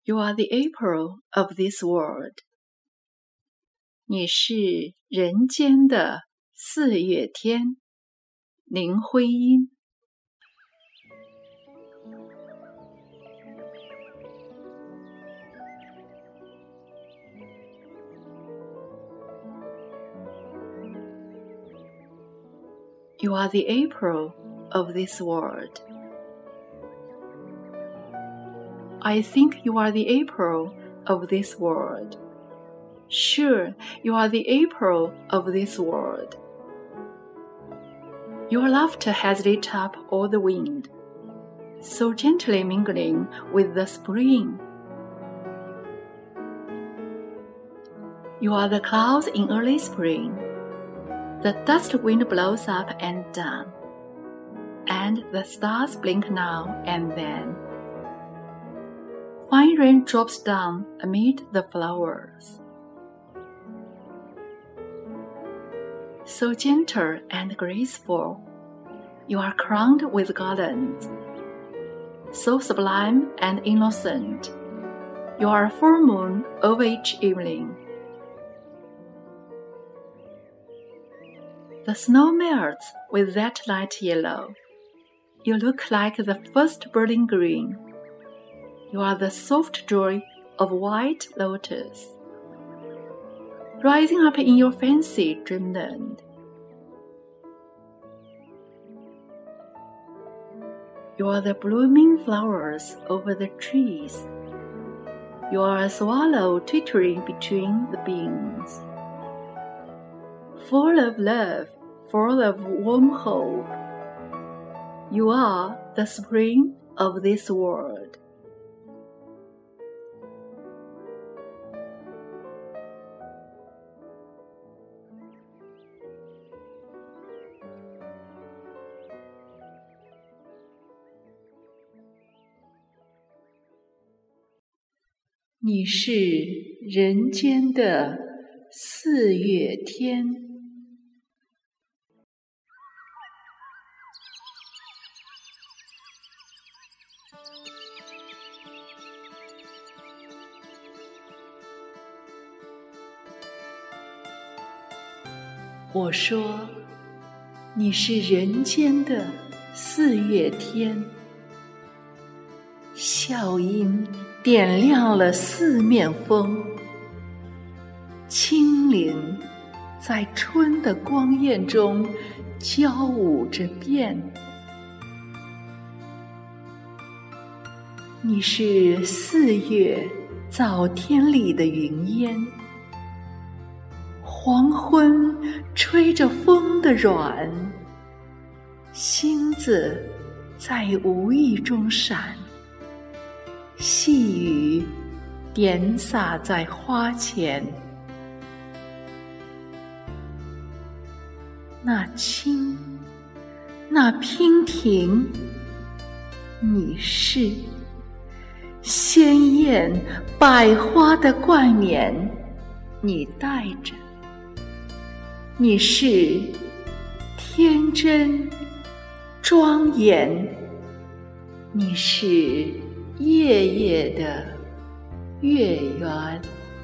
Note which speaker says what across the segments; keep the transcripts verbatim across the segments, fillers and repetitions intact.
Speaker 1: You are the April of this world. 你是人间的四月天，林徽因。You are the April of this world. I think you are the April of this world. Sure, you are the April of this world. Your laughter has lit up all the wind, so gently mingling with the spring. You are the clouds in early spring. The dust wind blows up and down, and the stars blink now and then. Fine rain drops down amid the flowers. So gentle and graceful, you are crowned with garlands. So sublime and innocent, you are a full moon of each evening. The snow melts with that light yellow. You look like the first burning green. You are the soft joy of white lotus, rising up in your fancy dreamland. You are the blooming flowers over the trees. You are a swallow twittering between the beams. Full of love, full of warm hope, you are the spring of this world.你是人间的四月天。我说，你是人间的四月天，笑音点亮了四面风，轻灵在春的光艳中交舞着变。你是四月早天里的云烟，黄昏吹着风的软，星子在无意中闪，细雨点洒在花前。那轻，那娉婷，你是鲜艳百花的冠冕，你戴着。你是天真庄严，你是夜夜的月圆。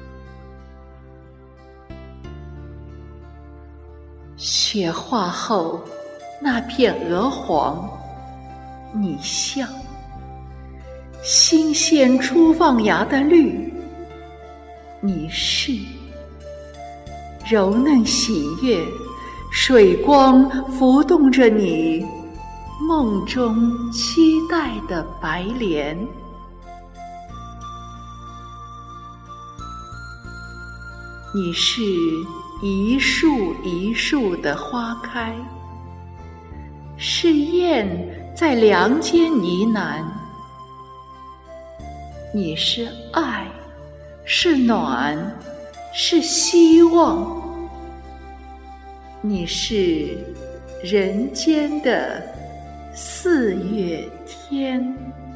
Speaker 1: 雪化后那片鹅黄，你像新鲜初放芽的绿，你是柔嫩喜悦，水光浮动着你梦中期待的白莲。你是一树一树的花开，是燕在梁间呢喃。你是爱，是暖，是希望。你是人间的四月天。